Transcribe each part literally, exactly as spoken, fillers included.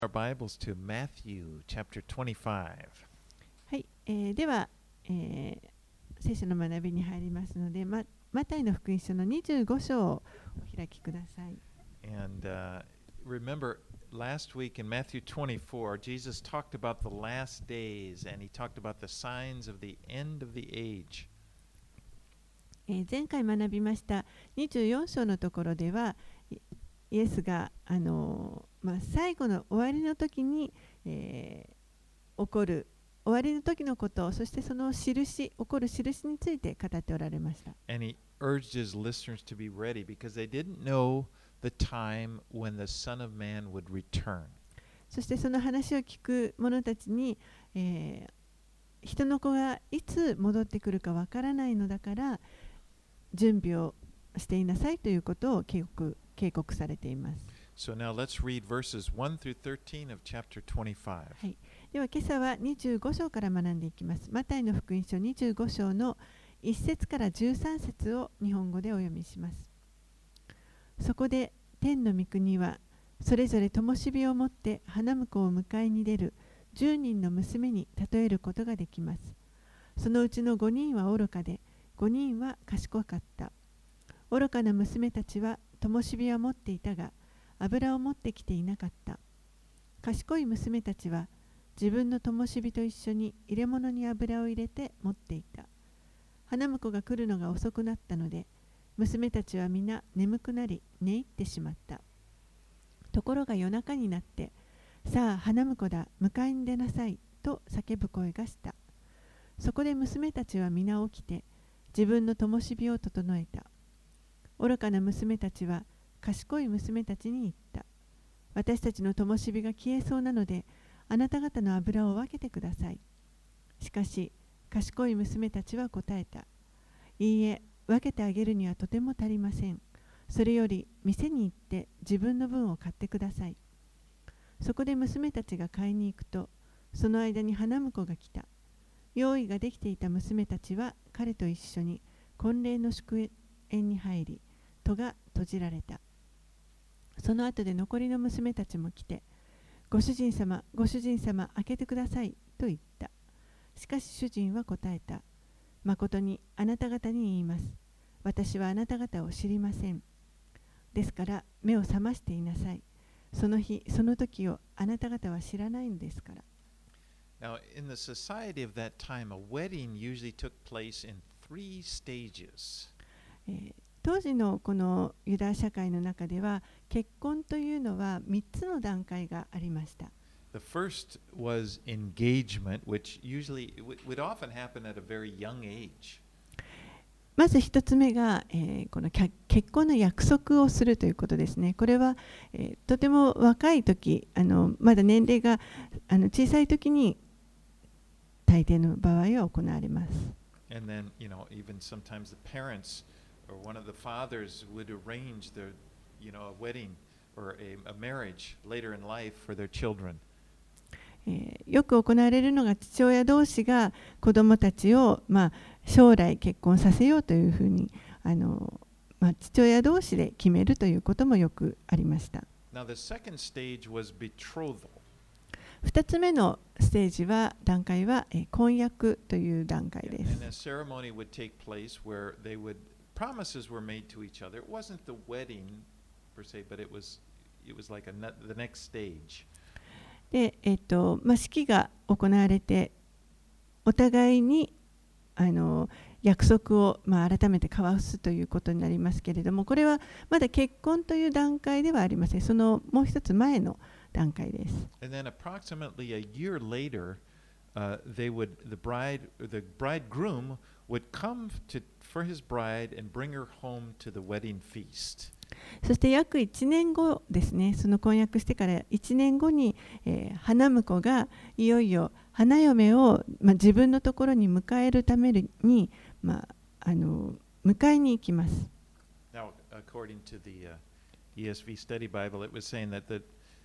Our Bibles to Matthew chapter twenty-five. はい、えー、では、えー、聖書の学びに入りますので、ま、マタイの福音書のにじゅうご章をお開きください。 And uh, remember, last week in Matthew twenty-four, Jesus talked about the last days and he talked about the signs of the end of the age. えー、前回学びましたにじゅうよん章のところでは、イエスが、あのーまあ、最後の終わりの時に、えー、起こる終わりの時のこと、そしてその印、起こる印について語っておられました。 And he urged his listeners to be ready because they didn't know the time when the Son of Man would return. そしてその話を聞く者たちに、えー、人の子がいつ戻ってくるかわからないのだから準備をしていなさいということを警告、警告されています。 So now let's read verses one through thirteen of chapter twenty-five. はい、では今朝はにじゅうご章から学んでいきます。マタイの福音書にじゅうご章のいち節からじゅうさん節を日本語でお読みします。そこで天の御国はそれぞれ灯火を持って花婿を迎えに出るじゅうにんの娘に例えることができます。そのうちのごにんは愚かでごにんは賢かった。愚かな娘たちは灯火は持っていたが油を持ってきていなかった。賢い娘たちは自分の灯火と一緒に入れ物に油を入れて持っていた。花婿が来るのが遅くなったので娘たちは皆眠くなり寝入ってしまった。ところが夜中になってさあ花婿だ迎えに出なさいと叫ぶ声がした。そこで娘たちは皆起きて自分の灯火を整えた。愚かな娘たちは賢い娘たちに言った。私たちの灯火が消えそうなのであなた方の油を分けてください。しかし賢い娘たちは答えた。いいえ、分けてあげるにはとても足りません。それより店に行って自分の分を買ってください。そこで娘たちが買いに行くとその間に花婿が来た。用意ができていた娘たちは彼と一緒に婚礼の祝宴に入り戸が閉じられた。その後で残りの娘たちも来て、ご主人様、ご主人様、開けてくださいと言った。しかし主人は答えた。誠にあなた方に言います。私はあなた方を知りません。ですから目を覚ましていなさい。その日、その時をあなた方は知らないのですから。 Now, in the society of that time, a wedding usually took place in three stages. えー当時のこのユダヤ社会の中では結婚というのはみっつの段階がありました。 The first was engagement, which usually would often happen at a very young age. まず一つ目が、えー、この結婚の約束をするということですね。これは、えー、とても若い時、あのまだ年齢があの小さい時に大抵の場合は行われます。 And then, you know, even sometimes the parents or one of the fathers would arrange their, you know, a wedding or a, a marriage later in life for their children. えー、よく行われるのが父親同士が子どもたちを、まあ、将来結婚させようというふうにあの、まあ、父親同士で決めるということもよくありました。 Now the second stage was betrothal. 二つ目のステージは段階は、えー、婚約という段階です。 And a ceremony would take place where they would promises were made to each other. It wasn't the wedding per se, but it was it was like a ne- the next stage. で、えっとまあ、式が行われてお互いにあの約束を、まあ、改めて交わすということになりますけれども、これはまだ結婚という段階ではありません。そのもう一つ前の段階です。 And then approximately a year later, uh, they would the bride the bridegroom would come to for his bride and bring her home to the wedding feast. そして約いちねんごですね、その婚約してからいちねんごに、えー、花婿がいよいよ花嫁を、まあ、自分のところに迎えるために、まあ、あの迎えに行きます。 Now, according to the uh, E S V Study Bible, it was saying that the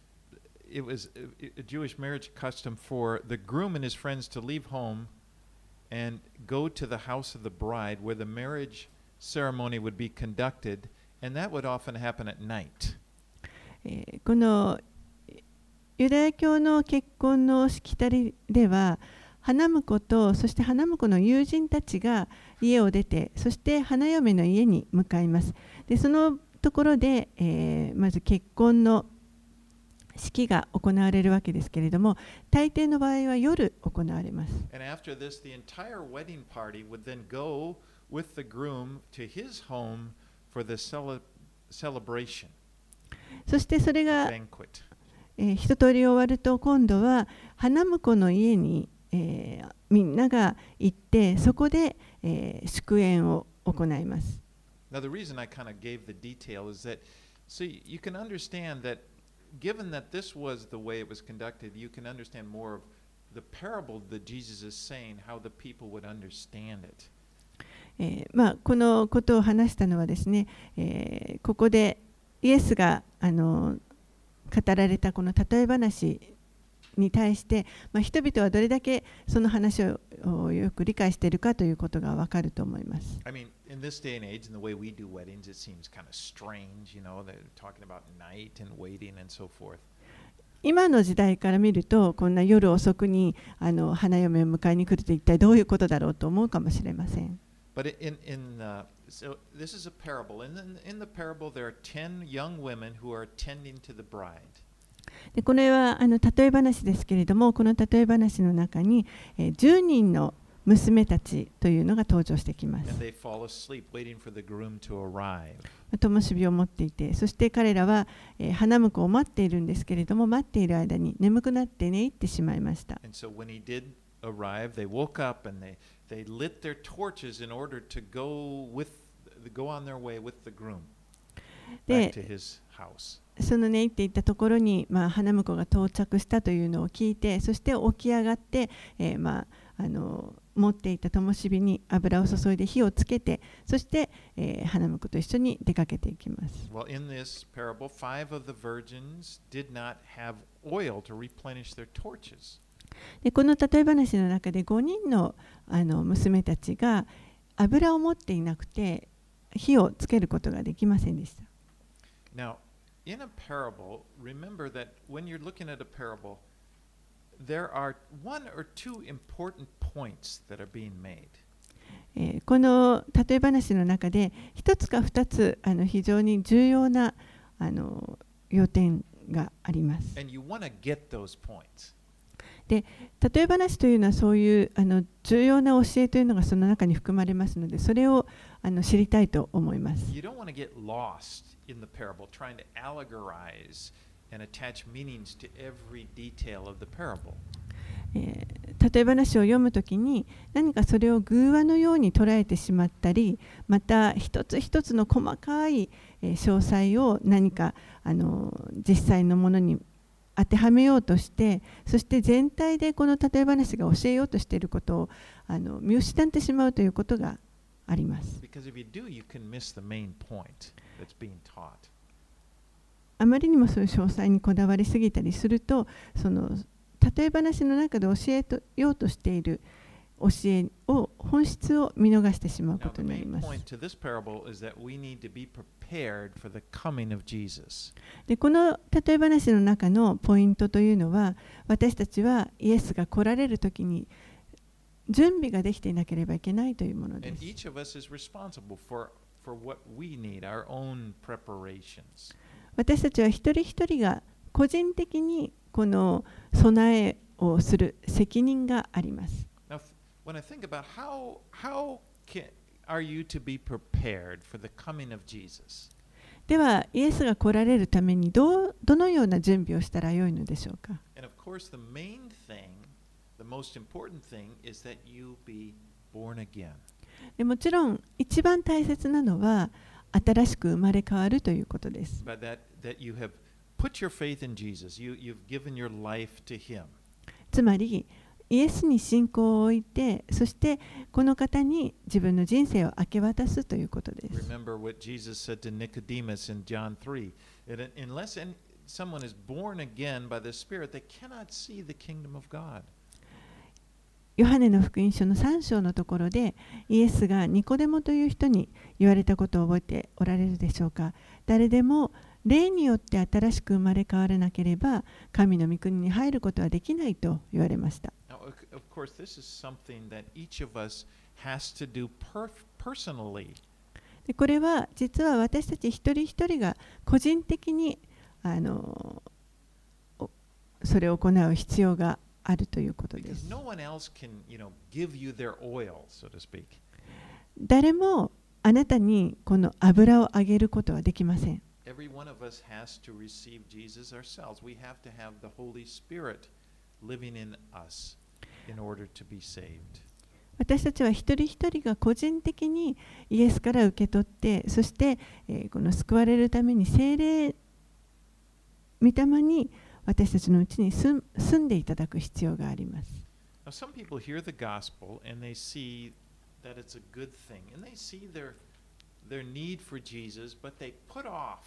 it was a Jewish marriage custom for the groom and his friends to leave home and go to the house of the bride where the marriage ceremony would be conducted, and that would often happen at night. このユダヤ教の結婚のしきたりでは、花婿とそして花婿の友人たちが家を出て、そして花嫁の家に向かいます。で、そのところで、えー、まず結婚の式が行われるわけですけれども、大抵の場合は夜行われます。 And after this, the entire wedding party would then go with the groom to his home for the cele- celebration, そしてそれ the が、 banquet. えー一通り終わると、今度は花婿の家に、えーみんなが行って、そこで、えー祝宴を行います。 Now, the reason I kind of gave the detail is that, so you you can understand that, given that this was the way it was conducted, you can understand more of the parable that Jesus is saying, how the people would understand it. えーまあ、このことを話したのはですね、えーここでイエスがあの語られたこの例え話に対して、まあ、人々はどれだけその話をよく理解しているかということがわかると思います。 I mean, in this day and age, and the way we do weddings, it seems kind of strange, you know, they're talking about night and waiting and so forth. 今の時代から見ると、こんな夜遅くにあの花嫁を迎えに来ると一体どういうことだろうと思うかもしれません。 But in, in uh, so this is a parable. And in, in the parable, there are ten young women who are tending to the bride. でこれはあの例え話ですけれども、この例え話の中に、えー、じゅうにんの娘たちというのが登場してきます。 And they fall asleep waiting for the groom to arrive. 灯火を持っていて、そして彼らは、えー花婿を待っているんですけれども、待っている間に眠くなって寝入ってしまいました。 And so when he did arrive, they woke up and they, they lit their torches in order to go with go on their way with the groom back で to his house. その寝入っていったところに、まあ、花婿が到着したというのを聞いて、そして起き上がって、えーまあ、あの持っていた灯火に油を注いで火をつけて、そして、えー花婿と一緒に出かけていきます。 Well, in this parable, five of the virgins did not have oil to replenish their torches. でこの例え話の中でごにんの、あの娘たちが油を持っていなくて火をつけることができませんでした。 Now, in a parable, remember that when you're looking at a parable, there are one or two important points that are being made. えーこの例え話の中で一つか二つあの非常に重要なあの要点があります。 And you want to get those points. 例え話というのはそういうあの重要な教えというのがその中に含まれますので、それをあの知りたいと思います。 You don't want to get lost in the parable trying to allegorize and attach meanings to every detail of the parable. えー例え話を読むときに何かそれを偶話のように捉えてしまったり、また一つ一つの細かい、えー詳細を何かあの実際のものに当てはめようとして、そして全体でこの例え話が教えようとしていることをあの見失ってしまうということがあります。 Because if you do, you can miss the main point that's being taught. あまりにもそういう詳細にこだわりすぎたりすると、その例え話の中で教えようとしている教えを本質を見逃してしまう Now, こと the になり main ます。 point to this parable is that we need to be prepared for the coming of Jesus. でこの例え話の中のポイントというのは、私たちはイエスが来られるときに準備ができていなければいけないというもので And す。 each of us is responsible for, for what we need, our own preparations. 私たちは一人一人が個人的にこの備えをする責任があります。 Now, when I think about how, how can, are you to be prepared for the coming of Jesus? では、イエスが来られるためにどうどのような準備をしたらよいのでしょうか。 And of course, the main thing, the most important thing is that you be born again. でもちろん、一番大切なのは新しく生まれ変わるということです。 But that, that you have put your faith in Jesus. You, you've given your life to Him. つまり、イエスに信仰を置いて、そしてこの方に自分の人生を明け渡すということです。 Remember what Jesus said to Nicodemus in John three. That unless any, someone is born again by the Spirit, they cannot see the kingdom of God. ヨハネの福音書のさん章のところで、イエスがニコデモという人に言われたことを覚えておられるでしょうか。誰でも霊によって新しく生まれ変わらなければ神の御国に入ることはできないと言われました。 Now, of course, this is something that each of us has to do per personally. でこれは実は私たち一人一人が個人的にあのそれを行う必要があるということです。 No one else can, you know, give you their oil, so to speak. 誰もあなたにこの油をあげることはできません。 Every one of us has to receive Jesus ourselves. We have to have the Holy Spirit living in us in order to be saved. 私たちは一人一人が個人的にイエスから受け取って、そして、えー、この救われるために聖霊御霊に私たちのうちに住んでいただく必要があります。 Now, some people hear the gospel and they see that it's a good thing, and they see their their need for Jesus, but they put off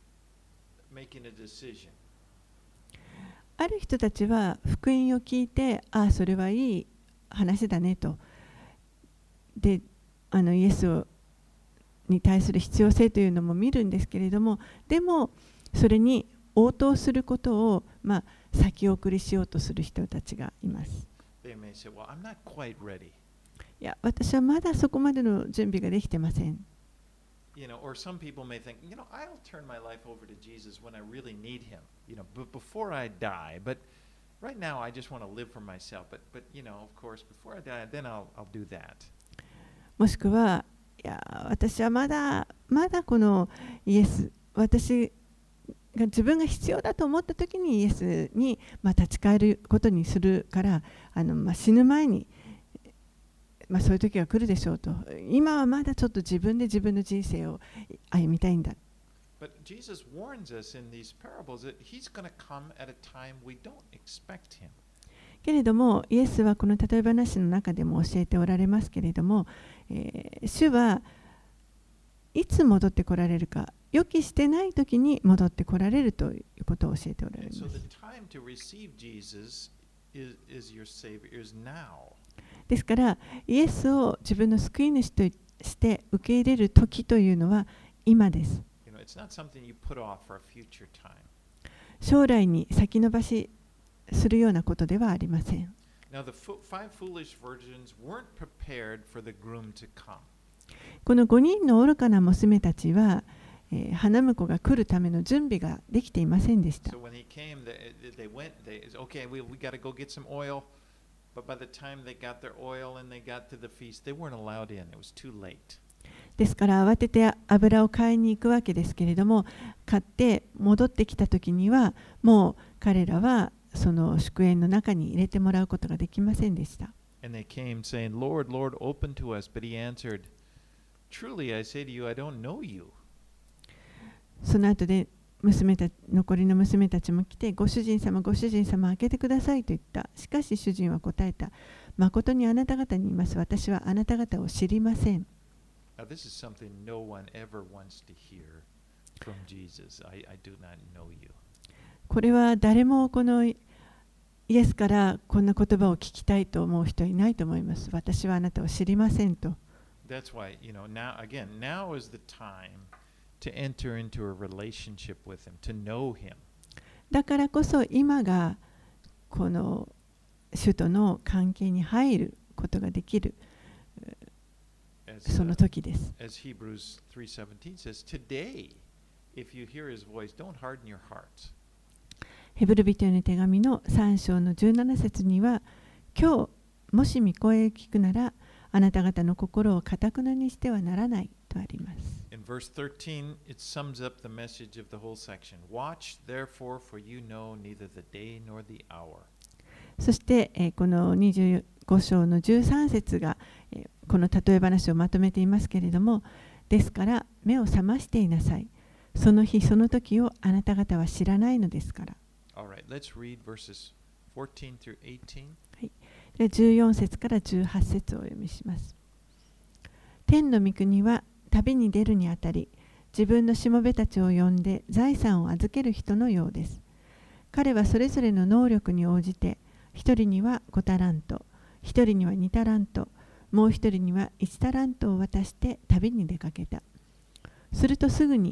making a decision. ある人たちは福音を聞いて、ああ、それはいい話だねと。で、あのイエスをに対する必要性というのも見るんですけれども、でもそれに応答することを、まあ、先送りしようとする人たちがいます。 They may say, "Well, I'm not quite ready." いや、私はまだそこまでの準備ができてません。 You know, or some people may think, you know, I'll turn my life over to Jesus when I really need Him. You know, but before I die. But right now, I just want to live for myself. But, but you know, of course, before I die, then I'll, I'll do that. もしくは、いや、私はまだまだこのイエス、私が自分が必要だと思った時にイエスに、まあ、立ち返ることにするから、あの、まあ、死ぬ前に、まあ、そういう時が来るでしょうと。今はまだちょっと自分で自分の人生を歩みたいんだ。 But Jesus warns us in these parables that He's going to come at a time we don't expect Him. けれども、イエスはこの例え話の中でも教えておられますけれども、えー、主はいつ戻ってこられるか、予期してない時に戻ってこられるということを教えておられます。 So the time to receive Jesus is, is your Savior is now. ですから、イエスを自分の救い主として受け入れる時というのは今です。 You know, it's not something you put off for a future time. 将来に先延ばしするようなことではありません。 Now, the five foolish virgins weren't prepared for the groom to come. このごにんの愚かな娘たちは、えー、花婿が来るための準備ができていませんでした。 So when he came, they, they went, they, okay, we, we got to go get some oil. But by the time they got their oil and they got to the feast, they weren't allowed in. It was too late. ですから慌てて油を買いに行くわけですけれども、買って戻ってきた時にはもう彼らはその祝宴の中に入れてもらうことができませんでした。 And they came saying, Lord, Lord, open to us. But he answered, Truly I say to you, I don't know you. その後で娘た残りの娘たちも来て、ご主人様、ご主人様、開けてくださいと言った。しかし主人は答えた。誠にあなた方に言います。私はあなた方を知りません。 Now, this is something no one ever wants to hear from Jesus. I, I do not know you. これは誰もこのイエスからこんな言葉を聞きたいと思う人いないと思います。私はあなたを知りませんと。 That's why, you know, now, again, now is the time to enter into a relationship with him, to know him. だからこそ今がこの主との関係に入ることができるその時です。 As Hebrews three seventeen says, today, if you hear his voice, don't harden your hearts. ヘブル人への手紙のさん章のじゅうなな節には、今日もし御声を聞くなら、あなた方の心を堅くなにしてはならないとあります。 In verse thirteen, it sums up the message of the whole section. Watch, therefore, for you know neither the day nor the hour. そして、えー、このにじゅうご章のじゅうさん節が、えー、この例え話をまとめていますけれども、ですから目を覚ましていなさい。その日その時をあなた方は知らないのですから。 Alright, let's read verses fourteen through eighteen. はい、でじゅうよん節からじゅうはち節をお読みします。天の御国は旅に出るにあたり、自分のしもべたちを呼んで財産を預ける人のようです。彼はそれぞれの能力に応じて、一人にはごタラント、一人にはにタラント、もう一人にはいちタラントを渡して旅に出かけた。するとすぐに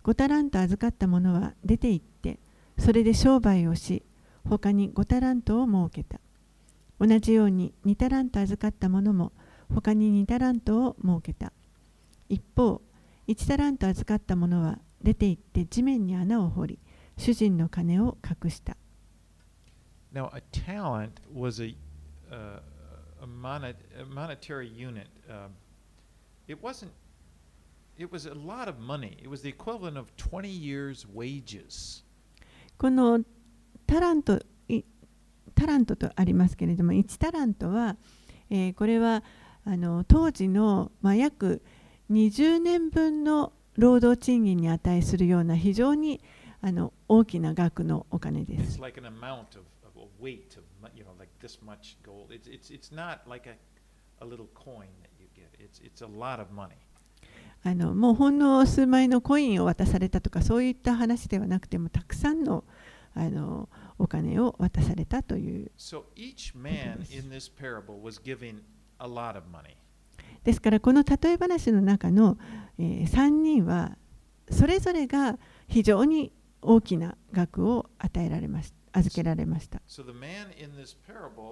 ごタラント預かった者は出て行って、それで商売をし、他にごタラントを設けた。同じようににタラント預かった者も他ににタラントを設けた。一方、いちタラント預かった者は出て行って地面に穴を掘り、主人の金を隠した。 Now, a talent was a, uh, a, monet, a monetary unit. Um, it wasn't, it was a lot of money. It was the equivalent of twenty years' wages. このタラント、タラントとありますけれども、いちタラントは、えー、これはあの当時の、まあ、約にじゅうねんぶんの労働賃金に値するような非常にあの大きな額のお金です。 It's like an amount of, of a weight of, you know, like this much gold. It's, it's, it's not like a, a little coin that you get. It's, it's a lot of money. あのもうほんの数枚のコインを渡されたとかそういった話ではなくてもたくさんのあのお金を渡されたという。 So each man in this parable was giving a lot of money. ですからこの例え話の中の、えー、さんにんはそれぞれが非常に大きな額を与えられました、預けられました。 So the man in this parable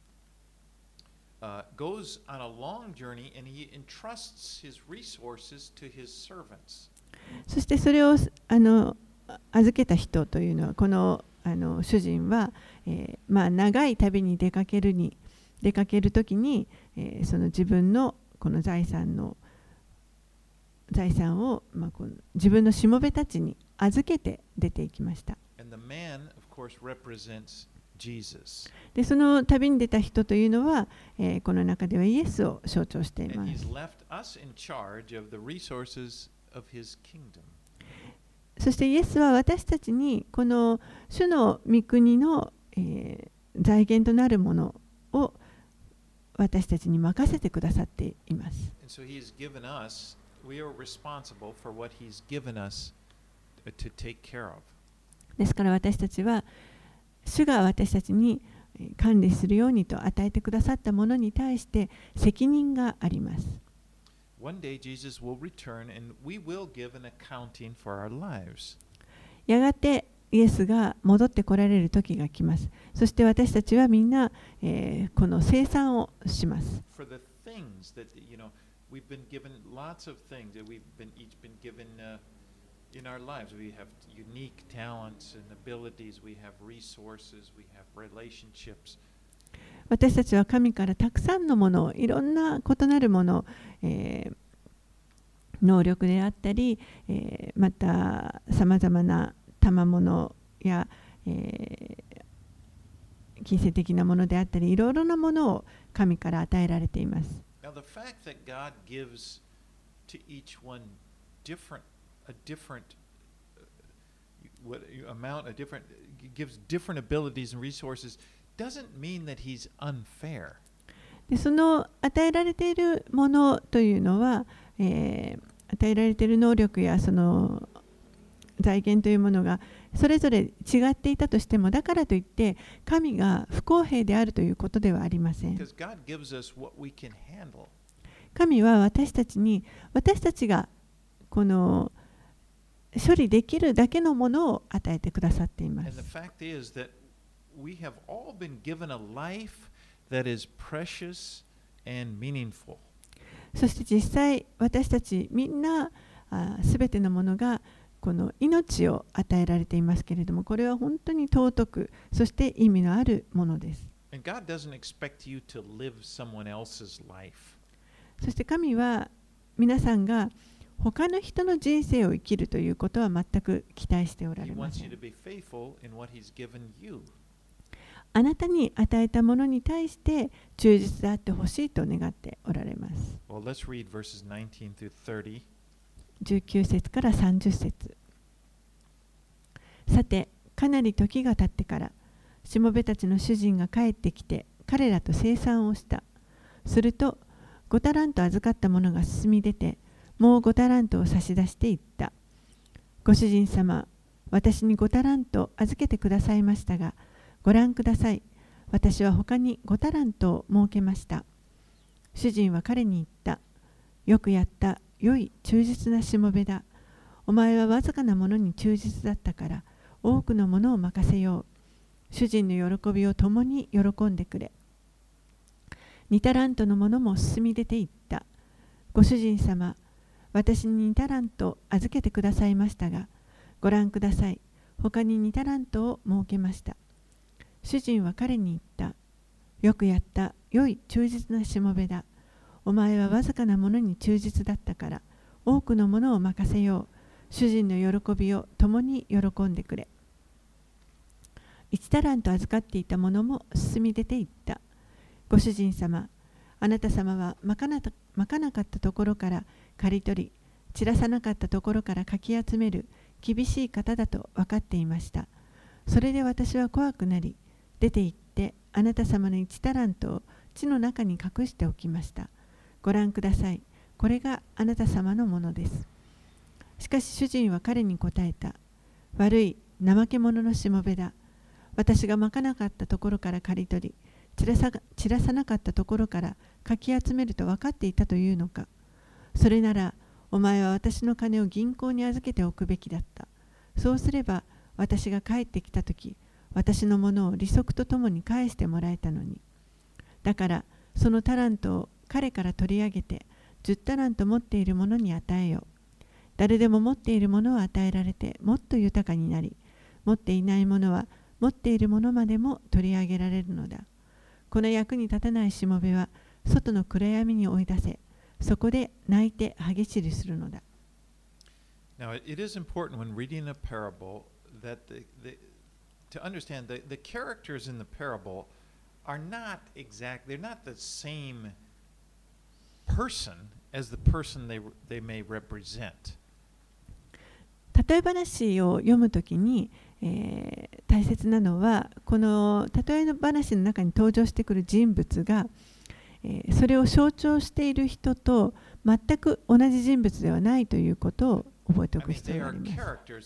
uh, goes on a long journey and he entrusts his resources to his servants. そしてそれをあの預けた人というのはこのあの主人は、えーまあ、長い旅に出かけるに出かけるときに、えー、その自分のこの財産の財産を、まあ、この自分のしもべたちに預けて出ていきました。 And the man, of course, represents Jesus. でその旅に出た人というのは、えー、この中ではイエスを象徴していま And す。 he's left us in charge of the resources of his kingdom. そしてイエスは私たちにこの主の御国の、えー、財源となるものを私たちに任せてくださっています。 And so he's given us, we are responsible for what he's given us to take care of. ですから私たちは主が私たちに管理するようにと与えてくださったものに対して責任があります。 One day Jesus will return and we will give an accounting for our lives. やがてイエスが戻ってこられる時が来ます。そして私たちはみんな、えー、この清算をします。 For the things that, you know, we've been given lots of things that we've been each been given uh, in our lives. We have unique talents and abilities, we have resources, we have relationships. 私たちは神からたくさんのもの、いろんな異なるもの、えー、能力であったり、えー、またさまざまな賜物や、えー、金銭的なものであったり、いろいろなものを神から与えられています。 Now, the fact that God gives to each one different, a different what amount, a different, gives different abilities and resources, doesn't mean that he's unfair. でその与えられているものというのは、えー、与えられている能力やその財源というものがそれぞれ違っていたとしても、だからといって神が不公平であるということではありません。神は私たちに私たちがこの処理できるだけのものを与えてくださっています。 We have all been given a life that is precious and meaningful. そして実際私たちみんなすべてのものがこの命を与えられていますけれども、これは本当に尊く、そして意味のあるものです。 And God doesn't expect you to live someone else's life. そして神は皆さんが他の人の人生を生きるということは全く期待しておられません。 He wants you to be faithful in what He's given you. あなたに与えたものに対して忠実であってほしいと願っておられます。 Well, let's read verses nineteen through thirty. じゅうきゅう節からさんじゅう節。さて、かなり時が経ってから、しもべたちの主人が帰ってきて、彼らと清算をした。すると、ごタラント預かった者が進み出て、もうごタラントを差し出していった。ご主人様、私にごタラント預けてくださいましたが、ご覧ください。私は他にごタラントを設けました。主人は彼に言った。よくやった、良い忠実なしもべだ。 お前はわずかなものに忠実だったから、多くのものを任せよう。主人の喜びを共に喜んでくれ。二タラントのものも進み出ていった。ご主人様、私に二タラント預けてくださいましたが、ご覧ください。他に二タラントを設けました。主人は彼に言った。よくやった。良い忠実なしもべだ。お前はわずかなものに忠実だったから、多くのものを任せよう。主人の喜びを共に喜んでくれ。一タラント預かっていたものも進み出ていった。ご主人様、あなた様はまかなたまかなかったところから刈り取り、散らさなかったところからかき集める厳しい方だと分かっていました。それで私は怖くなり、出て行ってあなた様の一タラントを地の中に隠しておきました。ご覧ください。これがあなた様のものです。しかし主人は彼に答えた。悪い怠け者のしもべだ。私がまかなかったところから刈り取り、散らさ、散らさなかったところからかき集めると分かっていたというのか。それなら、お前は私の金を銀行に預けておくべきだった。そうすれば、私が帰ってきたとき、私のものを利息とともに返してもらえたのに。だから、そのタラントを彼から取り上げて、十タラント持っている者に与えよう。誰でも持っているものを与えられて、もっと豊かになり、持っていないものは、持っているものまでも取り上げられるのだ。この役に立たないしもべは、外の暗闇に追い出せ、そこで泣いて歯ぎしりするのだ。 Now, it is important when reading a parable that the, the, to understand that the characters in the parable are not exact, they're not the same person as the person they, they may represent. 例え話を読むときに、えー、大切なのは、この例え話の中に登場してくる人物が、えー、それを象徴している人と全く同じ人物ではないということを覚えておく必要があります。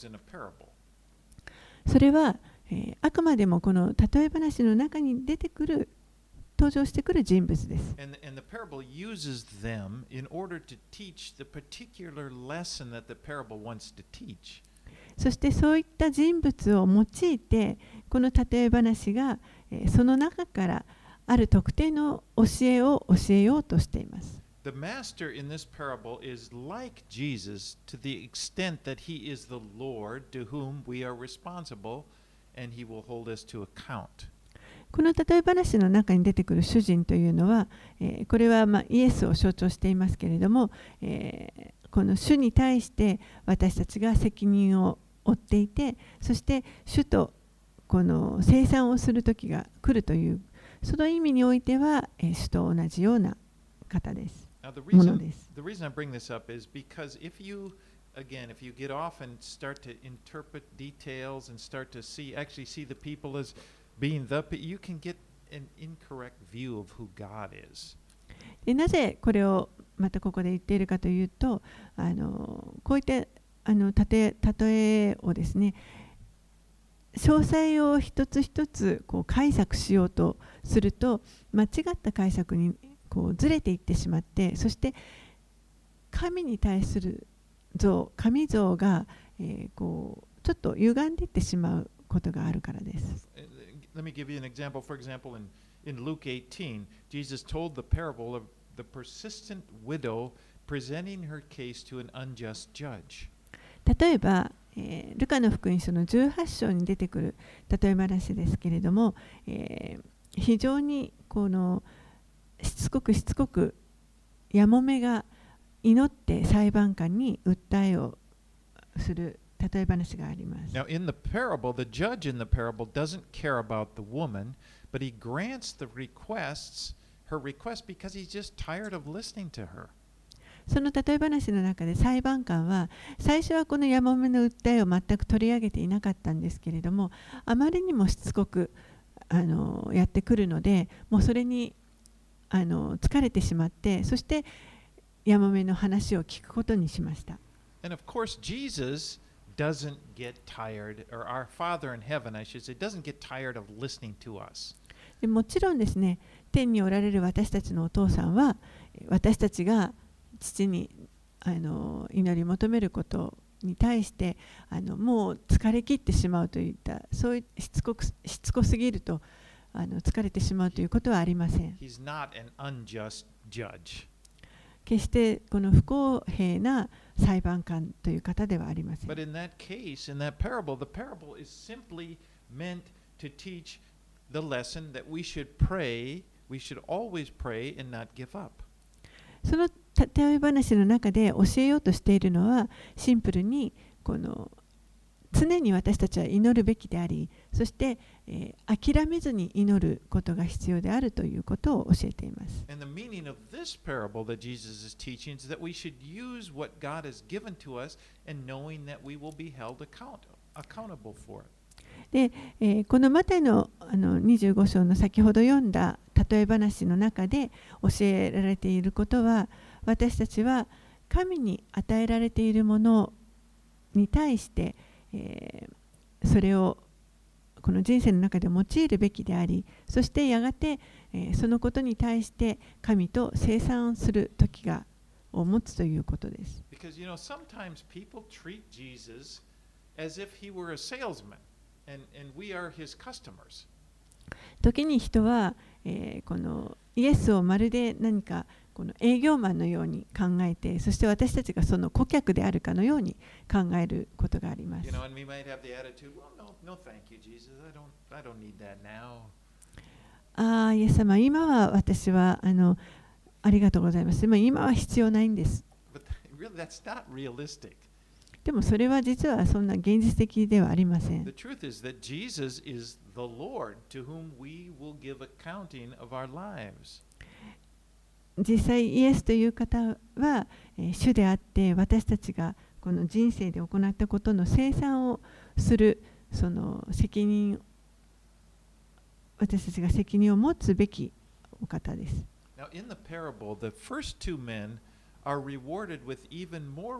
それは、えー、あくまでもこの例え話の中に出てくる登場してくる人物です。 And, and the parable uses them in order to teach the particular lesson that the parable wants to teach. そしてそういった人物を用いて、この例え話が、えー、その中からある特定の教えを教えようとしています。 The master in this parable is like Jesus to the extent that he is the Lord to whom we are responsible and he will hold us to account. この例え話の中に出てくる主人というのは、えー、これはまあイエスを象徴していますけれども、えー、この主に対して私たちが責任を負っていて、そして主とこの清算をする時が来るという、その意味においては、えー、主と同じような方です。 Now, the reason, the reason I bring this up is because if you, again, if you get off and start to interpret details and start to see, actually see the people as being the, you can get an incorrect view of who God is. でなぜこれをまたここで言っているかというと、あのこういったあの例え、例えをですね、詳細を一つ一つこう解釈しようとすると、間違った解釈にこうずれていってしまって、そして神に対する像、神像が、えー、こうちょっと歪んでいってしまうことがあるからです。 Let me give you an example. For example, in, in Luke eighteen, Jesus told the parable of the persistent widow presenting her case to an unjust judge. 例えば、えー、ルカの福音書のじゅうはち章に出てくる例え話ですけれども、えー、非常にこのしつこくしつこくやもめが祈って裁判官に訴えをする例え話があります。 Now, in the parable, the judge in the parable doesn't care about the woman, but he grants the requests, her request, because he's just tired of listening to her. その例え話の中で裁判官は最初はこのやもめの訴えを全く取り上げていなかったんですけれども、あまりにもしつこくあのやってくるので、もうそれにあの疲れてしまって、そしてやもめの話を聞くことにしました。 And of course, Jesus doesn't get tired, or our Father in heaven, I should say, doesn't get tired of listening to us. でもちろんですね、天におられる私たちのお父さんは、私たちが父にあの祈り求めることに対してあのもう疲れ切ってしまうといったそういうしつこくしつこすぎるとあの疲れてしまうということはありません。 He's not an unjust judge. 決してこの不公平な裁判官という方ではありません。 But in that case, in that parable, the parable is simply meant to teach the lesson that we should pray, we should always pray and not give up. その例え話の中で教えようとしているのはシンプルにこの常に私たちは祈るべきであり、そして、えー、諦めずに祈ることが必要であるということを教えています。 And the meaning of this parable that Jesus is teaching is that we should use what God has given to us and knowing that we will be held account, accountable for it. で、えー、このマタイの、あのにじゅうご章の先ほど読んだ例え話の中で教えられていることは、私たちは神に与えられているものに対して、えー、それをこの人生の中で用いるべきであり、そしてやがて、えー、そのことに対して神と清算する時がを持つということです。 Because you know, sometimes people treat Jesus as if he were a salesman. And, and we are his customers. 時に人は、えー、このイエスをまるで何かこの営業マンのように考えて、そして私たちがその顧客であるかのように考えることがあります。 You know, and we might have the attitude, well, no, no, thank you, Jesus. I don't, I don't need that now. ああ、イエス様、今は私はあのありがとうございます。今は必要ないんです。 But really, that's not realistic. でもそれは実はそんな現実的ではありません。 The truth is that Jesus is the Lord to whom we will give accounting of our lives. 実際イエスという方は、えー、主であって、私たちがこの人生で行ったことの清算をするその責任、私たちが責任を持つべきお方です。 Now, in the parable, the first two men are rewarded with even more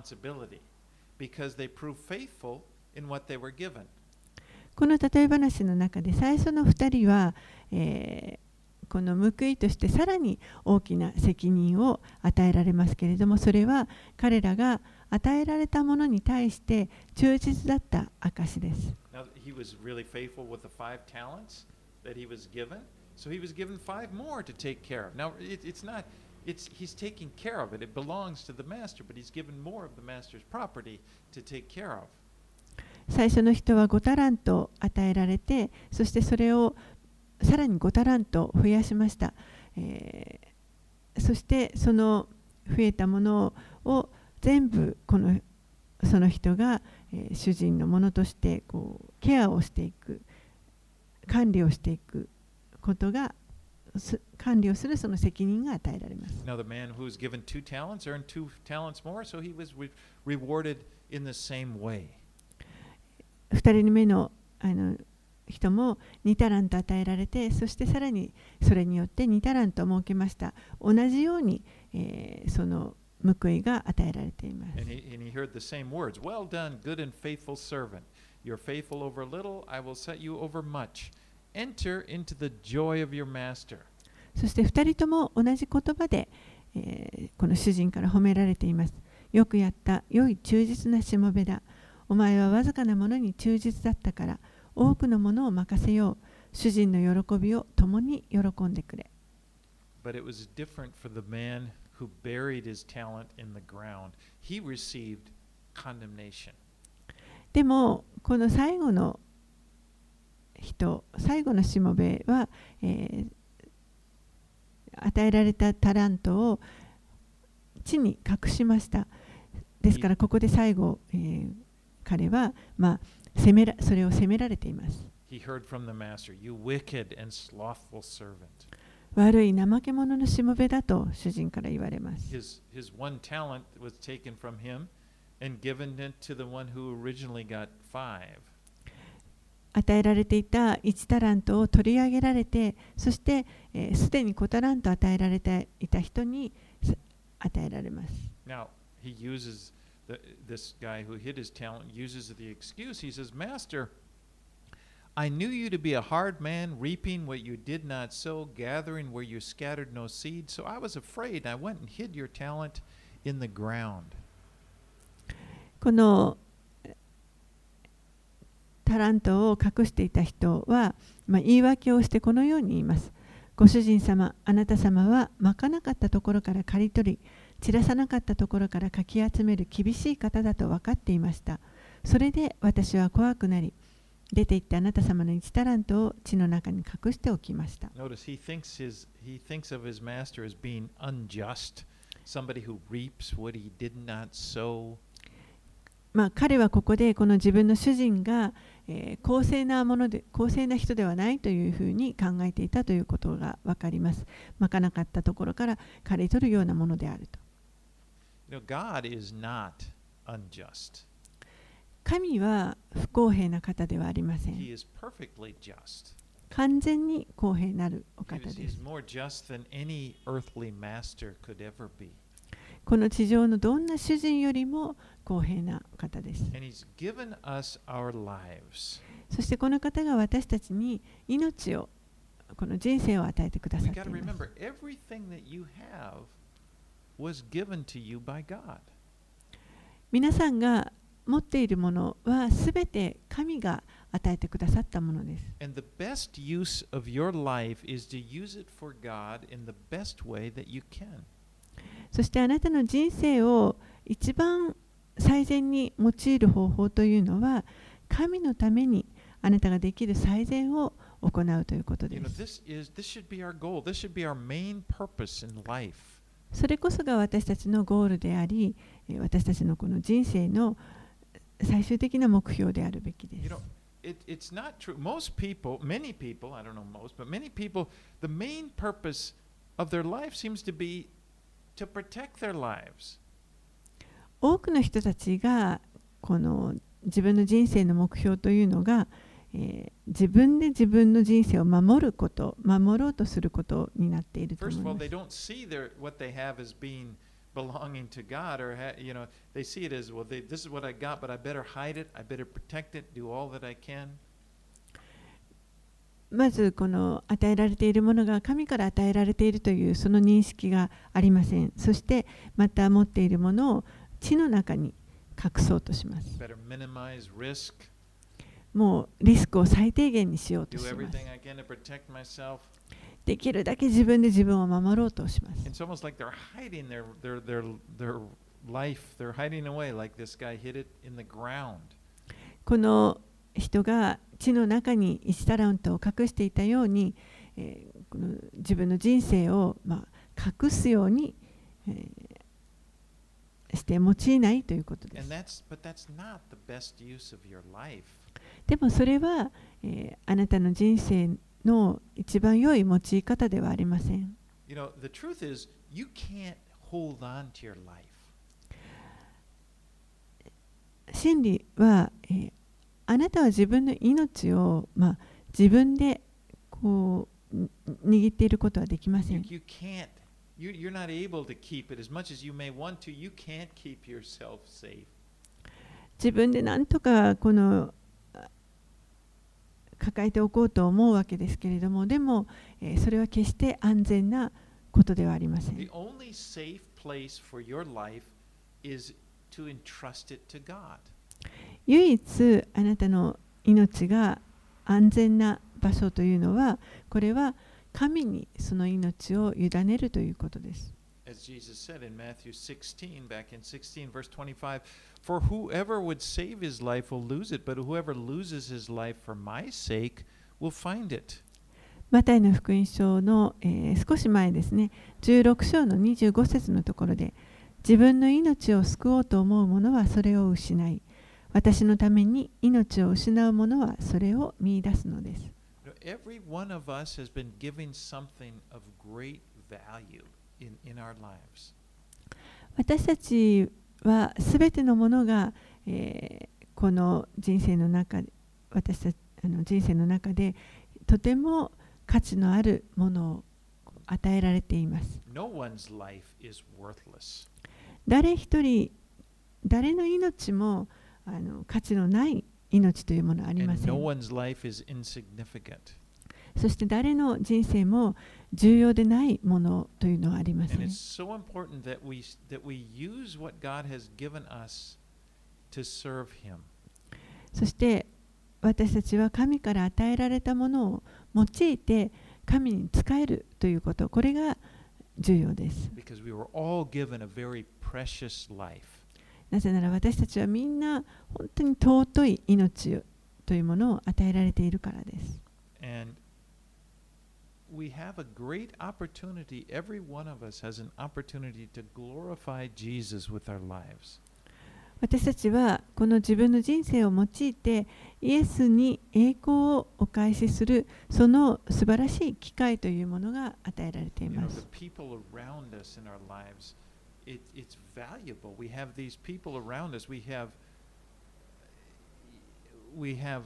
responsibility.Because they prove faithful in what they were given. この例え話の中で最初のふたりは、えー、この報いとしてさらに大きな責任を与えられますけれども、それは彼らが与えられたものに対して忠実だった証です。 Now, he was really faithful with the five talents that he was given, so he was given five more to take care of. Now, it, it's not.It's, he's taking care of it. It belongs to the master, but he's given more of the master's property to take care of. 最初の人はごタラント与えられて、そしてそれをさらにごタラント増やしました。えー、そしてその増えたものを全部このその人が、えー、主人のものとしてこうケアをしていく、管理をしていくことが管理をするその責任が与えられます。 Now the man who was given two talents earned two talents more, so he was re- rewarded in the same way. 二人目のあの人もにタラント与えられて、そしてさらにそれによってにタラントを設けました。同じように、えー、その報いが与えられています。 And he, and he heard the same words. Well done, good and faithful servant. You're faithful over little, I will set you over much.Enter into the joy of your master. そして二人とも同じ言葉で、えー、この主人から褒められています。よくやった、良い忠実なしもべだ。お前はわずかなものに忠実だったから、多くのものを任せよう。主人の喜びを共に喜んでくれ。 But it was different for the man who buried his talent in the ground. He received condemnation. でも、この最後の人、最後のしもべは、えー、与えられたタラントを地に隠しました。ですからここで最後、えー、彼は、まあ、責めらそれを責められています。 He heard from the master, "You wicked and slothful servant." 悪い怠け者のしもべだと主人から言われます。 His, his one talent was taken from him and given it to the one who originally got five. 与えられていたいちタラントを取り上げられて、そしてすで、えー、にごタラント与えられていた人に与えられます。 Now, he uses the, this guy who hid his talent uses the excuse. He says, "Master, I knew you to be a hard man, reaping what you did not sow, gathering where you scattered no seed. So I was afraid. I went and hid your talent in the ground." このタラントを隠していた人は、まあ、言い訳をしてこのように言います。ご主人様、あなた様はまかなかったところから刈り取り、散らさなかったところからかき集める厳しい方だと分かっていました。それで私は怖くなり、出て行ってあなた様の一タラントを地の中に隠しておきました。 Notice he thinks his he thinks of his master as being unjust, somebody who reaps what he did not sow. まあ、彼はここでこの自分の主人が、えー、公正なもので公正な人ではないというふうに考えていたということが分かります。まかなかったところから刈り取るようなものであると。 You know, God is not unjust. 神は不公平な方ではありません。 He is perfectly just. 完全に公平なるお He 方 is, で he す。 is more just than any earthly master could ever be. この地上のどんな主人よりも公平な方です。 And he's given us our lives. そしてこの方が私たちに命を、この人生を与えてくだ We さって got い to ます。 remember everything that you have was given to you by God. 皆さんが持っているものはすべて神が与えてくださったものです。 And the best use of your life is to use it for God in the best way that you can. そしてあなたの人生を一番最善に用いる方法というのは、神のためにあなたができる最善を行うということ You で know, す。 this is this should be our goal. This should be our main purpose in life. それこそが私たちのゴールであり、私たちのこの人生の最終的な目標であるべきで You す。 know, it, it's not true. Most people, many people, I don't know most, but many people, the main purpose of their life seems to be to protect their lives. 多くの人たちがこの自分の人生の目標というのが、えー自分で自分の人生を守ること、守ろうとすることになっていると First of 思 all, い they ま don't see their what they have as being belonging to God, or ha, you know, they see it as well. They, this is what I got, but I better hide it. I better protect it. Do all that I can. す。まずこの与えられているものが神から与えられているというその認識がありません。そしてまた持っているものを地の中に隠そうとします。 Better minimize risk. もうリスクを最低限にしようと Do します。 everything I can to protect myself. できるだけ自分で自分を守ろうとします。 It's almost like they're hiding their their their their life. They're hiding away, like this guy hid it in the ground. この人が地の中にいちタラントを隠していたように、えーこの自分の人生を、まあ、隠すように、えーして用いないということで And す。 that's but that's not the best use of your life. でもそれは、えーあなたの人生の一番良い用い方ではありません。 You know, the truth is you can't hold on to your life. 真理は、えーあなたは自分の命を、まあ、自分でこうに握っていることはできませ You, ん。 you can't. You, you're not able to keep it as much as you may want to. You can't keep yourself safe. 自分で何とかこのあ抱えておこうと思うわけですけれども、でも、えーそれは決して安全なことではありませ The ん。 only safe place for your life is to entrust it to God. 唯一あなたの命が安全な場所というのは、これは神にその命を委ねるということです。 As Jesus said in Matthew sixteen, back in sixteen, verse twenty-five, for whoever would save his life will lose it, but whoever loses his life for my sake will find it. マタイの福音書の、えー少し前ですね、じゅうろく章のにじゅうご節のところで、自分の命を救おうと思う者はそれを失い、私のために命を失う者はそれを見出すのです。 You know, every one of us has been given something of great value in, in our lives. 私たちはすべてのものが、えーこの人生の中で、私たちあの人生の中でとても価値のあるものを与えられています。 No one's life is worthless. 誰一人、誰の命もあの価値のない命というものはありま And せ no ん。 one's life is insignificant. そして誰の人生も重要でないものというのはありませ And ん。 it's so important that we that we use what God has given us to serve him. そして私たちは神から与えられたものを用いて神に仕えるということ、これが重要です。 Because we were all given a very precious life. なぜなら私たちはみんな本当に尊い命というものを与えられているからです。 And we have a great opportunity. Every one of us has an opportunity to glorify Jesus with our lives. 私たちはこの自分の人生を用いてイエスに栄光をお返しするその素晴らしい機会というものが与えられてい You know, ま the す。 people around us in our lives, it, it's valuable. We have these people around us. We have we have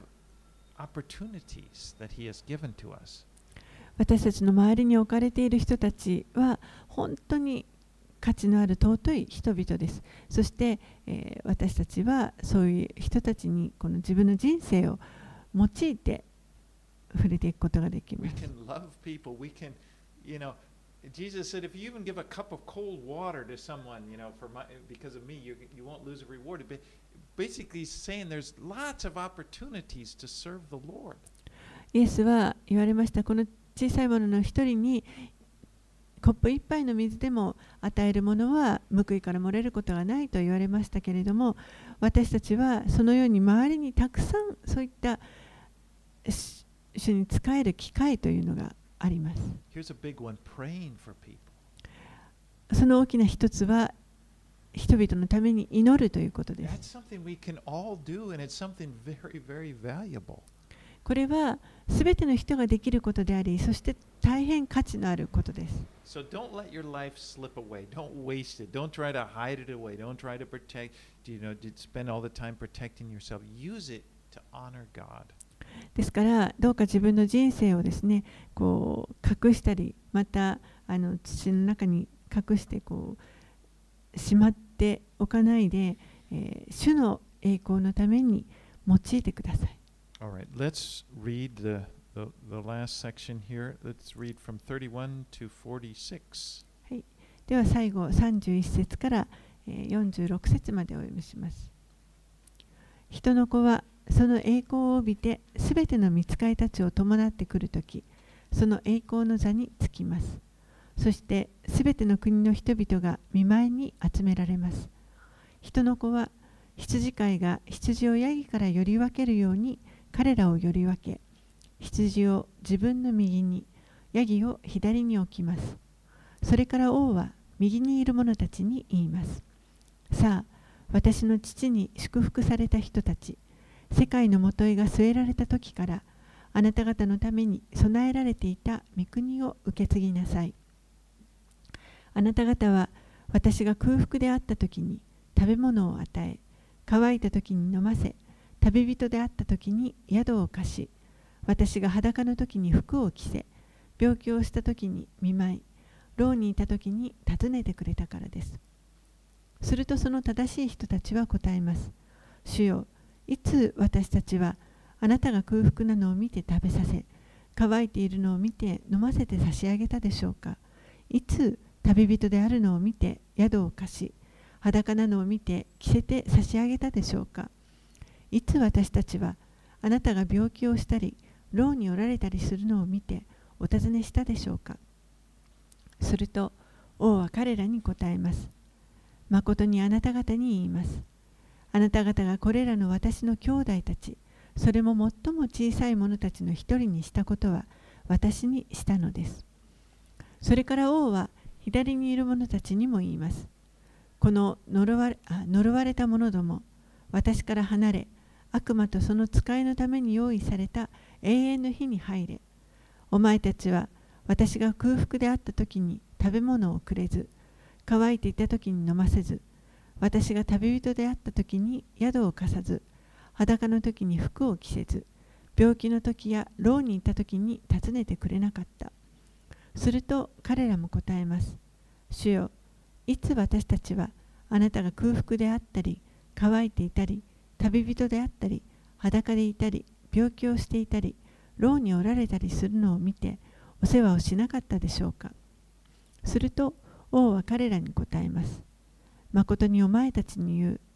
opportunities that He has given to us. 私たちの周りに置かれている人たちは本当に価値のある尊い人々です。そして、えー、私たちはそういう人たちにこの自分の人生を用いて触れていくことができま We す。 can love people. We can, you know, Jesus said, if you even give a cup of cold water to someone, you know, for my, because of me, you, you won't lose a reward. But basically, he's saying there's lots of opportunities to serve the Lord. イエスは言われました。この小さいものの一人にコップ一杯の水でも与えるものは報いから漏れることがないと言われましたけれども、私たちはそのように周りにたくさんそういった主に仕える機会というのがあります。 Here's a big one, praying for people. その大きな一つは人々のために祈るということです。 That's something we can all do, and it's something very, very valuable. これはすべての人ができることであり、そして大変価値のあることです。 So don't let your life slip away. Don't waste it. Don't try to hide it away. Don't try to protect, you know, to spend all the time protecting yourself. Use it to honor God. ですからどうか自分の人生をですね、こう隠したり、またあの土の中に隠してこうしまっておかないで、えー、主の栄光のために用いてください。 All right, let's read the, the, the last section here. Let's read from thirty-one to forty-six. はい、では最後さんじゅういっ節からよんじゅうろく節までお読みします。人の子はその栄光を帯びてすべての御使いたちを伴ってくるとき、その栄光の座につきます。そしてすべての国の人々が御前に集められます。人の子は羊飼いが羊をヤギからより分けるように彼らをより分け、羊を自分の右に、ヤギを左に置きます。それから王は右にいる者たちに言います。さあ、私の父に祝福された人たち、世界のもといが据えられた時から、あなた方のために備えられていた御国を受け継ぎなさい。あなた方は私が空腹であった時に食べ物を与え、乾いた時に飲ませ、旅人であった時に宿を貸し、私が裸の時に服を着せ、病気をした時に見舞い、牢にいた時に訪ねてくれたからです。するとその正しい人たちは答えます。主よ、いつ私たちはあなたが空腹なのを見て食べさせ、乾いているのを見て飲ませて差し上げたでしょうか。いつ旅人であるのを見て宿を貸し、裸なのを見て着せて差し上げたでしょうか。いつ私たちはあなたが病気をしたり牢におられたりするのを見てお尋ねしたでしょうか。すると王は彼らに答えます。まことにあなた方に言います。あなた方がこれらの私の兄弟たち、それも最も小さい者たちの一人にしたことは私にしたのです。それから王は左にいる者たちにも言います。この呪われ、あ、呪われた者ども、私から離れ、悪魔とその使いのために用意された永遠の火に入れ。お前たちは私が空腹であった時に食べ物をくれず、乾いていた時に飲ませず、私が旅人であった時に宿を貸さず、裸の時に服を着せず、病気の時や牢にいた時に訪ねてくれなかった。すると彼らも答えます。主よ、いつ私たちはあなたが空腹であったり、乾いていたり、旅人であったり、裸でいたり、病気をしていたり、牢におられたりするのを見て、お世話をしなかったでしょうか。すると王は彼らに答えます。まことにお前たちに言う。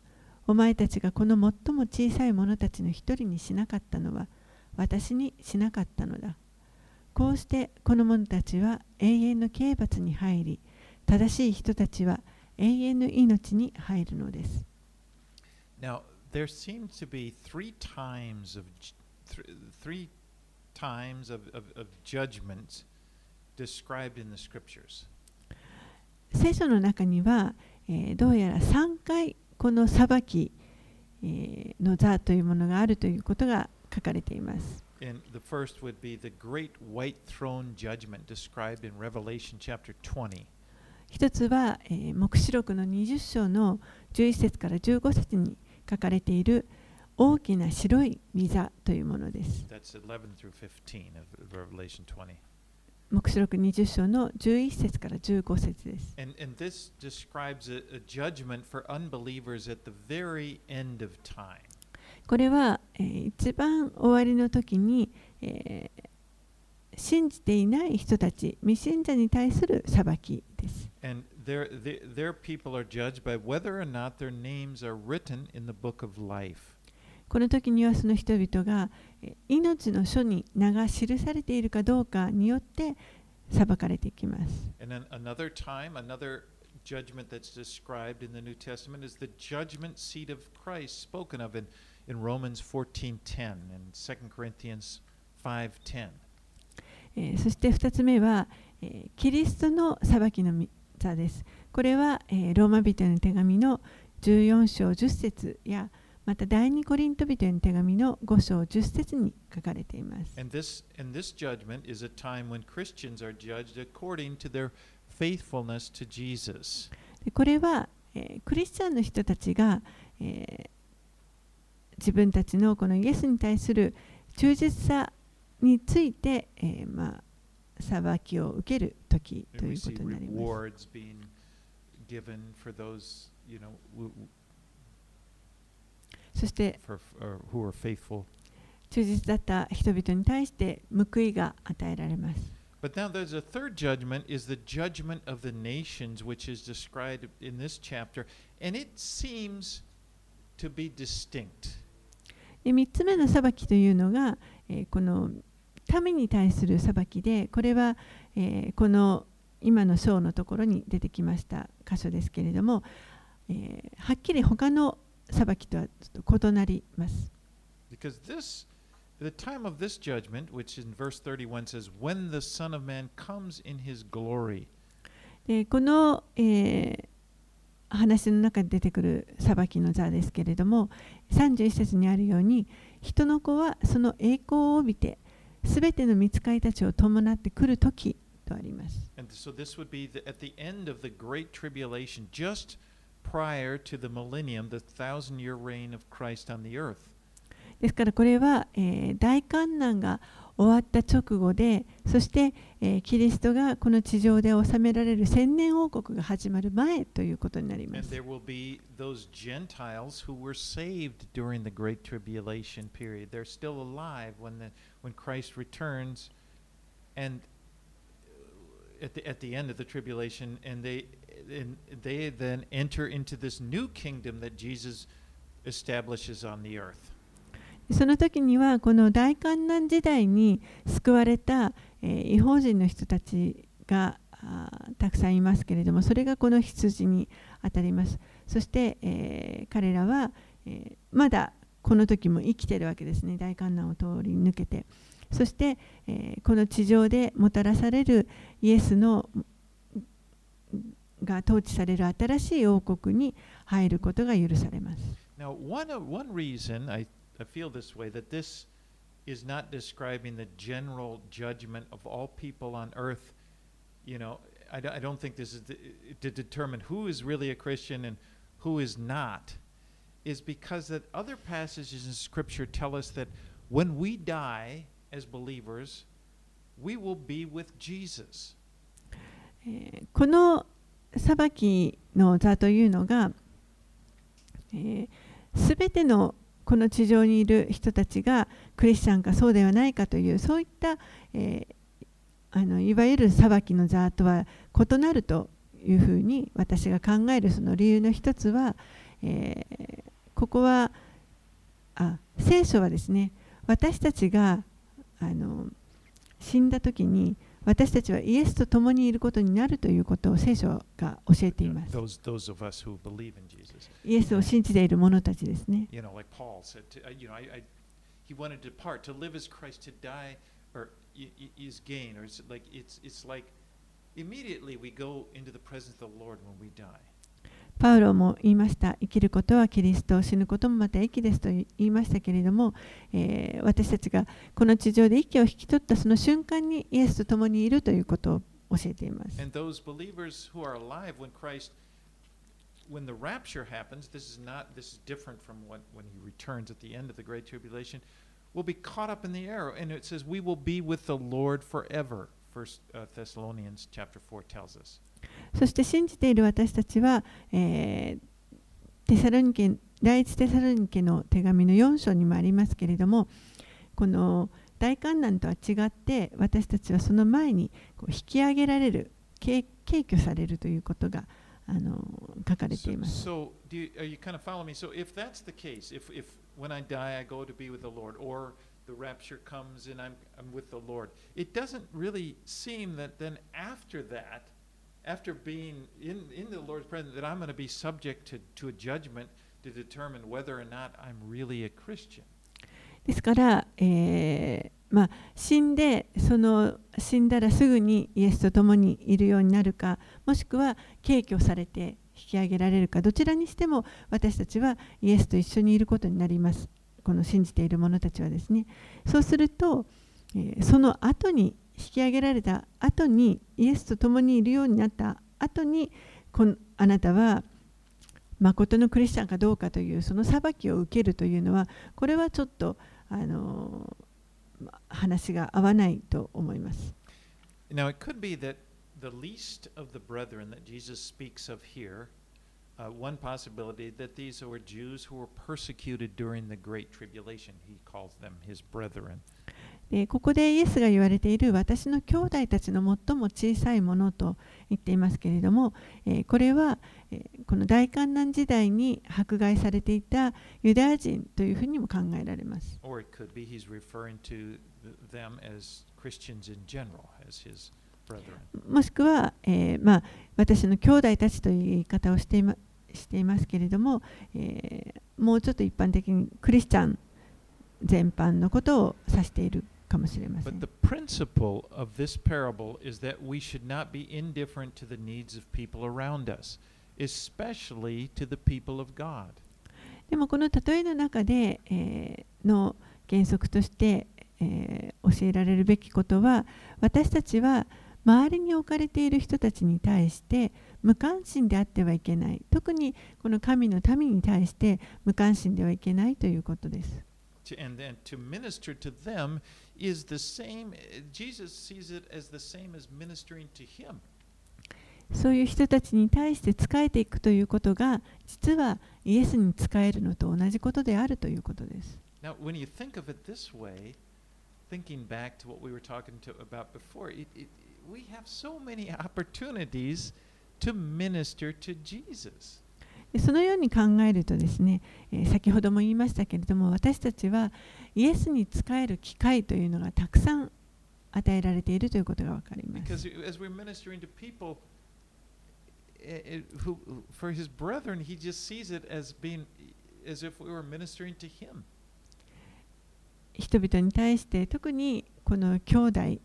お前たちがこの最も小さい者たちの一人にしなかったのは私にしなかったのだ。こうしてこの者たちは永遠の刑罰に入り、正しい人たちは永遠の命に入るのです。 Now, there seem to be three times of three times of, of, of judgment described in the scriptures. 聖書の中には、えー、どうやらさんかいこの裁き、えー、の座というものがあるということが書かれています。 And the first would be the great white throne judgment described in Revelation chapter twenty. 一つは、えー、黙示録のにじゅっ章のじゅういち節からじゅうご節に書かれている大きな白い御座というものです。 That's eleven through fifteen of Revelation twenty. 黙示録にじゅっ章のじゅういち節からじゅうご節です。 And, and this describes a, a judgment for unbelievers at the very end of time. これは、えー、一番終わりの時に、えー、信じていない人たち、未信者に対する裁きです。 And their, their, their people are judged by whether or not their names are written in the book of life. この時にはその人々が命の書に名が記されているかどうかによって裁かれていきます。 And then another time, another judgment that's described in the New Testament is the judgment seat of Christ spoken of in, in Romans fourteen ten and Second Corinthians five ten. えー、そしてふたつめは、えー、キリストの裁きの座です。これは、えー、ローマ人への手紙のじゅうよん章じゅっ節やまた第二コリント人への手紙のご章じゅっ節に書かれています。 And this, and this judgment is a time when Christians are judged according to their faithfulness to Jesus. でこれは、えー、クリスチャンの人たちが、えー、自分たちのこのイエスに対する忠実さについて、えー、まあ裁きを受ける時ということになります。そして、忠実だった人々に対して報いが与えられます。 But now there's a third judgment, is the judgment of the nations, which is described in this chapter, and it seems to be distinct. でみっつめの裁きというのが、えー、この民に対する裁きで、これは、えー、この今の章のところに出てきました箇所ですけれども、えー、はっきり他の裁きとはちょっと異なります。 Because this, the time of this judgment, which in verse thirty-one says, when the Son of Man comes in his glory. でこの、えー、話の中で出てくる裁きの座ですけれども、さんじゅういち節にあるように、人の子はその栄光を帯びて、すべての御使いたちを伴ってくるときとあります。 And so this would be the, at the end of the great tribulation, just prior to the millennium, the thousand year reign of Christ on the earth. ですからこれは、えー、大観難が終わった直後で、そして、えー、キリストがこの地上で治められる千年王国が始まる前ということになります。 And there will be those Gentiles who were saved during the great tribulation period. They're still alive when the when Christ returns, and at the at the end of the tribulation, and they and they then enter into this new kingdom that Jesus establishes on the earth. その時にはこの大観難時代に救われた、えー、異邦人の人たちがたくさんいますけれども、それがこの羊にあたります。そして、えー、彼らは、えー、まだこの時も生きているわけですね。大観難を通り抜けて、そして、えー、この地上でもたらされるイエスのが統治される新しい王国に入ることが許されます。 Now, one, one reason I I feel this way, that this is not describing the general judgment of all people on earth. You know, I, I don't think this is the, to determine who is really a Christian and who is not, is because that other passages in Scripture tell us that when we die as believers, we will be with Jesus. この裁きの座というのが、すべてのこの地上にいる人たちがクリスチャンかそうではないかという、そういった、えー、あのいわゆる裁きの座とは異なるというふうに私が考えるその理由の一つは、えー、 ここはあ聖書はですね、私たちがあの死んだ時に私たちはイエスと共にいることになるということを聖書が教えています。 Those, those of us who believe in Jesus. イエスを信じている者たちですね。 You know, like Paul said, to, uh, you know, I, I, he wanted to depart. To live is Christ, to die or is gain. Or it's like it's it's like immediately we go into the presence of the Lord when we die. パウロも言いました。生きることはキリスト、死ぬこともまた益ですと言いましたけれども、えー、私たちがこの地上で息を引き取ったその瞬間にイエスと共にいるということを教えています。 And those believers who are alive when Christ, when the rapture happens, this is not, this is different from what, when he returns at the end of the Great Tribulation, will be caught up in the air. And it says, we will be with the Lord forever. First uh, Thessalonians chapter four tells us. そして信じている私たちは、えー、テサロニケ第一テサロニケの手紙のよん章にもありますけれども、この大観難とは違って私たちはその前にこう引き上げられる、敬挙されるということがあの書かれています。 So, so do you, are you kind of following me? So if that's the case, if, if when I die I go to be with the Lord, or the rapture comes and I'm, I'm with the Lord, it doesn't really seem that then after that, after being in, in the Lord's presence, that I'm going to be subject to, to a judgment to determine whether or not I'm really a Christian. ですから、えーまあ、死んでその死んだらすぐにイエスと共にいるようになるか、もしくは敬挙されて引き上げられるか、どちらにしても私たちはイエスと一緒にいることになります。この信じている者たちはですね。そうすると、えー、その後に引き上げられた後にイエスと共にいるようになった後にこのあなたは誠のクリスチャンかどうかというその裁きを受けるというのは、これはちょっとあの話が合わないと思います。 Now it could be that the least of the brethren that Jesus speaks of here, uh, one possibility that these were Jews who were persecuted during the Great Tribulation. He calls them his brethren. でここでイエスが言われている私の兄弟たちの最も小さいものと言っていますけれども、えー、これは、えー、この大観難時代に迫害されていたユダヤ人というふうにも考えられます。 Or it could be he's referring to them as Christians in general, as his brethren. もしくは、えーまあ、私の兄弟たちという言い方をしていま、していますけれども、えー、もうちょっと一般的にクリスチャン全般のことを指しているかもしれません。 But the principle of this parable is that we should not be indifferent to the needs of people around us, especially to the people of God. でもこの例えの中で、えー、の原則として、えー、教えられるべきことは、私たちは周りに置かれている人たちに対して無関心であってはいけない。特にこの神の民に対して無関心ではいけないということです。 And then to minister to them is the same, Jesus sees it as the same as ministering to him. そういう人たちに対して仕えていくということが、実はイエスに仕えるのと同じことであるということです。 Now, when you think of it this way, thinking back to what we were talking to about before, it, it, we have so many opportunities to minister to Jesus. そのように考えるとですね、えー、先ほども言いましたけれども、私たちはイエスに仕える機会というのがたくさん与えられているということが分かります。 Because as we're ministering to people, who, for his brethren, he just sees it as being as if we were ministering to him. 人々に対して、特にこの兄弟、イ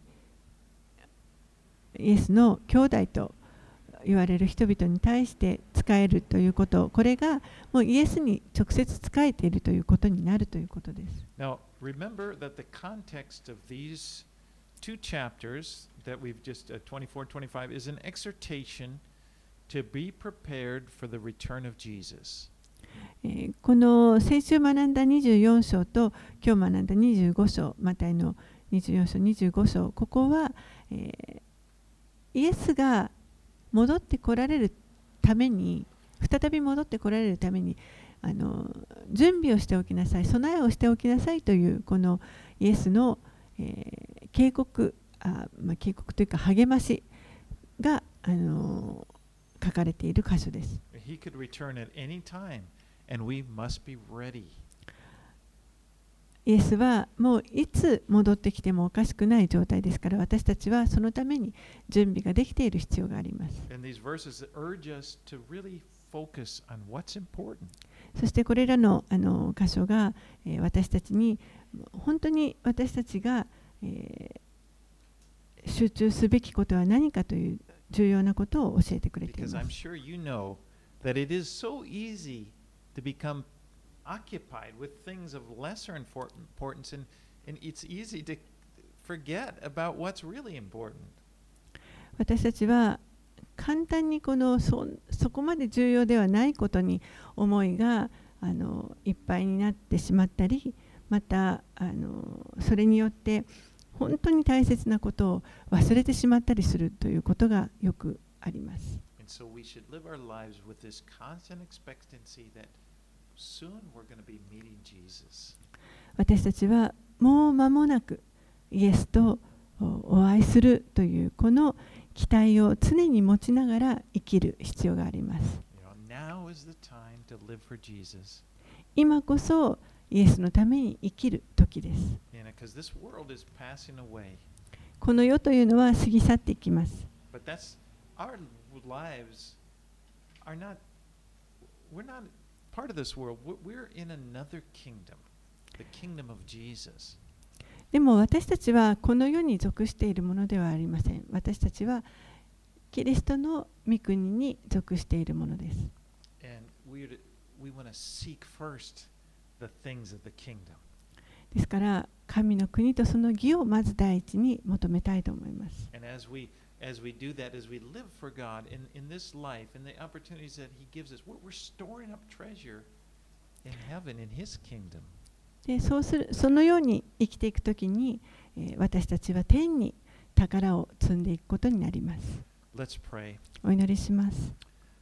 エスの兄弟と言われる人々に対して仕えるということ、これがもうイエスに直接仕えているということになるということです。 Now, remember that the context of these two chapters that we've just uh, twenty-four and twenty-five is an exhortation to be prepared for the return of Jesus. この先週学んだにじゅうよん章と今日学んだにじゅうご章、マタイのにじゅうよん章、にじゅうご章、ここは、えー、イエスが戻ってこられるために、再び戻ってこられるためにあの準備をしておきなさい、備えをしておきなさいというこのイエスの、えー、警告あ、まあ、警告というか励ましがあの書かれている箇所です。 He could return at any time, and we must be ready. イエスはもういつ戻ってきてもおかしくない状態ですから、私たちはそのために準備ができている必要があります。 And these verses urge us to really focus on what's important. そしてこれらの、あの箇所が、えー私たちに本当に私たちが、えー集中すべきことは何かという重要なことを教えてくれてい Because ま I'm す。 sure you know that it is so easy to become occupied with things of lesser infor- importance, and, and it's easy to forget about what's really important. 私たちは簡単にこの そ, そこまで重要ではないことに思いがあのいっぱいになってしまったり、またあのそれによって本当に大切なことを忘れてしまったりするということがよくあります。 And so we should live our lives with this constant expectancy that soon we're going to be meeting Jesus. 私たちはもう間もなくイエスとお会いするというこの期待を常に持ちながら生きる必要があります。 You know, now is the time to live for Jesus. 今こそイエスのために生きる時です。 You know, because this world is passing away. この世というのは過ぎ去っていきます。 But that's our lives are not, we're not part of this world. We're- We're in another kingdom, the kingdom of Jesus. でも私たちはこの世に属しているものではありません。私たちはキリストの御国に属しているものです。 And we we want to seek first the things of the kingdom. ですから神の国とその義をまず第一に求めたいと思います。 And as we as we do that, as we live for God in, in this life, in the opportunities that He gives us, we're, we're storing up treasure in heaven, in His kingdom. でそうするそのように生きていくときに、えー私たちは天に宝を積んでいくことになります。 Let's pray. お祈りします。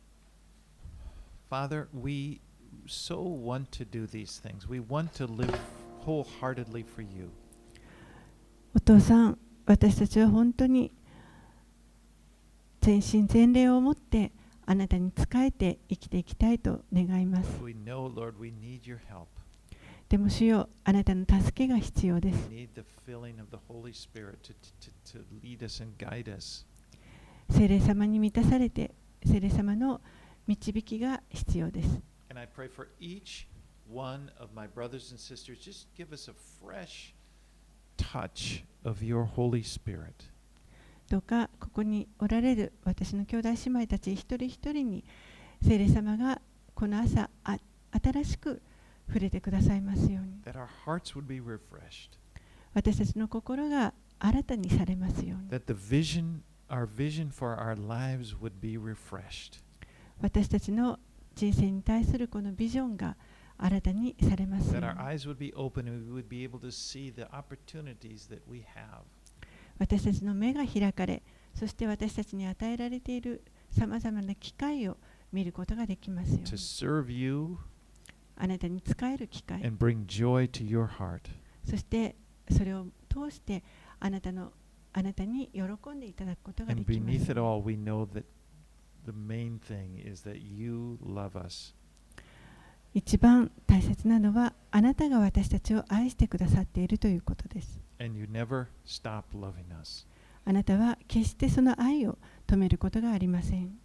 Father, we so want to do these things. We want to live wholeheartedly for you. お父さん、私たちは本当に全身全霊を持ってあなたに仕えて生きていきたいと願います。 We know, Lord, we need your help. でも主よ、あなたの助けが必要です。 We need the filling of the Holy Spirit to, to, to lead us and guide us. 聖霊様に満たされて、聖霊様の導きが必要です。 And I pray for each one of my brothers and sisters, just give us a fresh touch of your Holy Spirit. どうかここにおられる私の兄弟姉妹たち一人一人に聖霊様がこの朝あ新しく触れてくださいますように、 That our hearts would be refreshed. 私たちの心が新たにされますように、 That the vision, our vision for our lives would be refreshed. 私たちの人生に対するこのビジョンが新たにされますよう That に、 our eyes would be open and we would be able to see the opportunities that we have. 私たちの目が開かれ、そして私たちに与えられているさまざまな機会を見ることができますよう To に、 serve you あなたに仕える機会、 and bring joy to your heart. そしてそれを通してあなたのあなたに喜んでいただくことがで And きます。 beneath it all, we know that the main thing is that you love us. 一番大切なのはあなたが私たちを愛してくださっているということです。 And you never stop loving us. あなたは決してその愛を止めることがありません。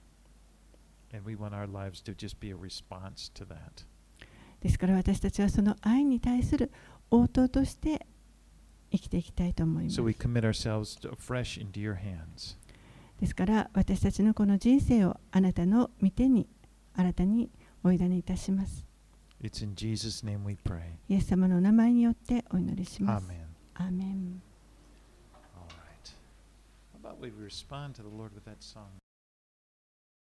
And we want our lives to just be a response to that. ですから私たちはその愛に対する応答として生きていきたいと思います。 So we commit ourselves to, fresh into your hands. ですから私たちのこの人生をあなたの御手に新たにお委ねいたします。 It's in Jesus' name we pray. イエス様のお名前によってお祈りします。 Amen. アーメン。 All right. How about we respond to the Lord with that song?